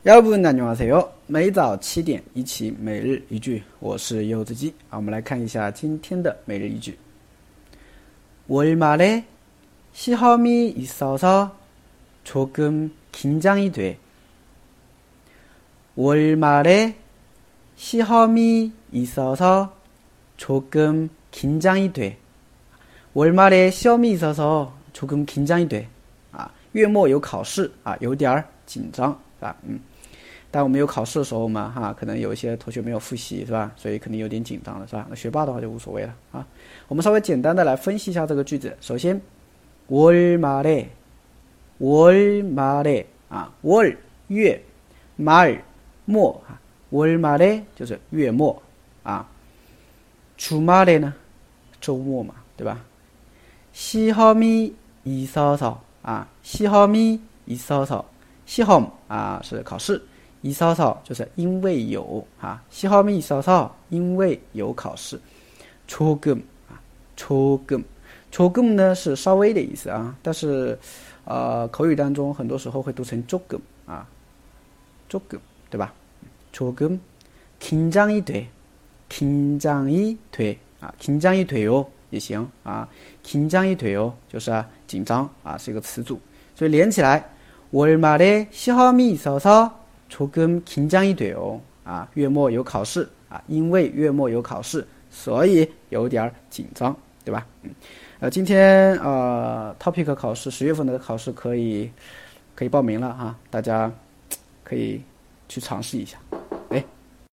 여러분 안녕하세요. 每早7点一起每日一句，我是柚子鸡。我们来看一下今天的每日一句。월말에 시험이 있어서 조금 긴장이 돼. 월말에 시험이 있어서 조금 긴장이 돼. 월말에 시험이 있어서 조금 긴장이 돼. 月末有考试有点紧张，是吧？当我们有考试的时候嘛，可能有一些同学没有复习，是吧？所以肯定有点紧张了，是吧？那学霸的话就无所谓了啊。我们稍微简单的来分析一下这个句子。首先，월말에 월月，말末월말에就是月末주말에呢周末嘛，对吧？시험이 있어서 시험이 있어서 시험是考试，있어서就是因为有시험이 있어서因为有考试。조금呢是稍微的意思但是口语当中很多时候会读成조금 조금对吧？조금 긴장이 돼요也行긴장이 돼요就是紧张是一个词组，所以连起来월말에 시험이 있어서 조금 긴장이 돼요月末有考试因为月末有考试，所以有点紧张，对吧？今天topic 考试10月份的考试可以报名了大家可以去尝试一下。